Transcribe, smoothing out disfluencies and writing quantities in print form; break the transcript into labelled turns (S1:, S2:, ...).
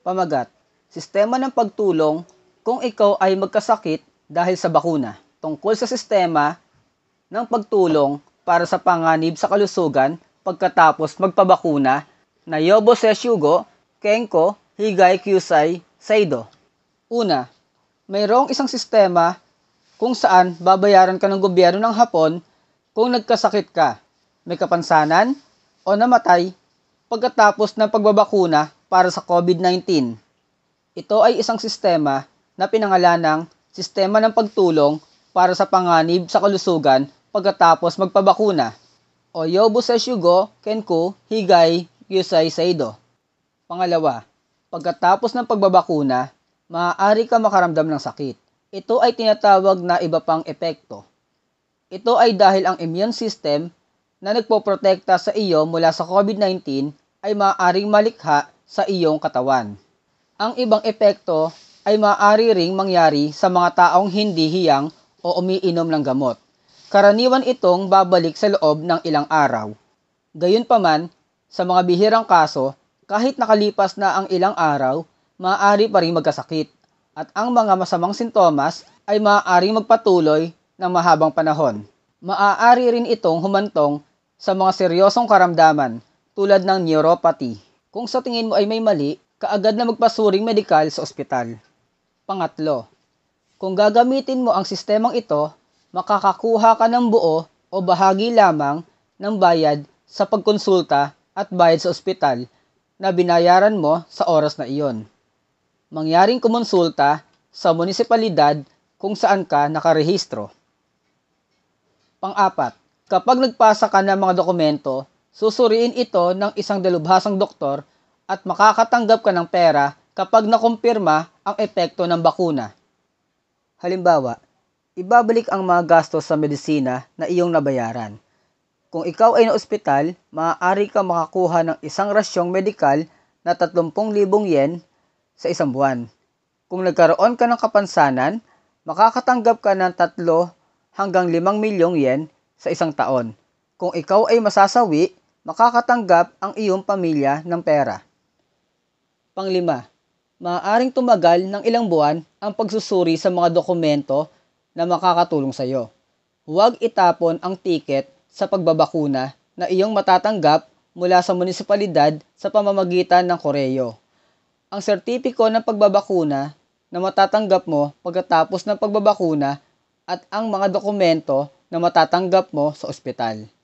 S1: Pamagat, sistema ng pagtulong kung ikaw ay magkasakit dahil sa bakuna. Tungkol sa sistema ng pagtulong para sa panganib sa kalusugan pagkatapos magpabakuna na Yobo Seshugo, Kenko, Higay Kyusai, Seido. Una, mayroong isang sistema kung saan babayaran ka ng gobyerno ng Hapon kung nagkasakit ka, may kapansanan o namatay pagkatapos ng pagbabakuna para sa COVID-19. Ito ay isang sistema na pinangalanang Sistema ng Pagtulong para sa Panganib sa Kalusugan pagkatapos magpabakuna o Yobo Seshugo, Kenku, Higay, Kyusai, Seido. Pangalawa, pagkatapos ng pagbabakuna, maaari ka makaramdam ng sakit. Ito ay tinatawag na iba pang epekto. Ito ay dahil ang immune system na nagpoprotekta sa iyo mula sa COVID-19 ay maaaring malikha sa iyong katawan. Ang ibang epekto ay maaari ring mangyari sa mga taong hindi hiyang o umiinom ng gamot. Karaniwan itong babalik sa loob ng ilang araw. Gayunpaman, sa mga bihirang kaso, kahit nakalipas na ang ilang araw, maaari pa rin magkasakit at ang mga masamang sintomas ay maaaring magpatuloy ng mahabang panahon. Maaari rin itong humantong sa mga seryosong karamdaman tulad ng neuropathy. Kung sa tingin mo ay may mali, kaagad na magpasuring medikal sa ospital. Pangatlo, kung gagamitin mo ang sistemang ito, makakakuha ka ng buo o bahagi lamang ng bayad sa pagkonsulta at bayad sa ospital na binayaran mo sa oras na iyon. Mangyaring kumonsulta sa munisipalidad kung saan ka nakarehistro. Pang-apat, kapag nagpasa ka ng mga dokumento, susuriin ito ng isang dalubhasang doktor at makakatanggap ka ng pera kapag nakumpirma ang epekto ng bakuna. Halimbawa, ibabalik ang mga gastos sa medisina na iyong nabayaran. Kung ikaw ay na-ospital, maaari ka makakuha ng isang rasyong medikal na 30,000 yen sa isang buwan. Kung nagkaroon ka ng kapansanan, makakatanggap ka ng 3 hanggang 5 milyong yen sa isang taon. Kung ikaw ay masasawi, makakatanggap ang iyong pamilya ng pera. Panglima, maaaring tumagal ng ilang buwan ang pagsusuri sa mga dokumento na makakatulong sa iyo. Huwag itapon ang tiket sa pagbabakuna na iyong matatanggap mula sa munisipalidad sa pamamagitan ng koreyo. Ang sertipiko ng pagbabakuna na matatanggap mo pagkatapos ng pagbabakuna at ang mga dokumento na matatanggap mo sa ospital.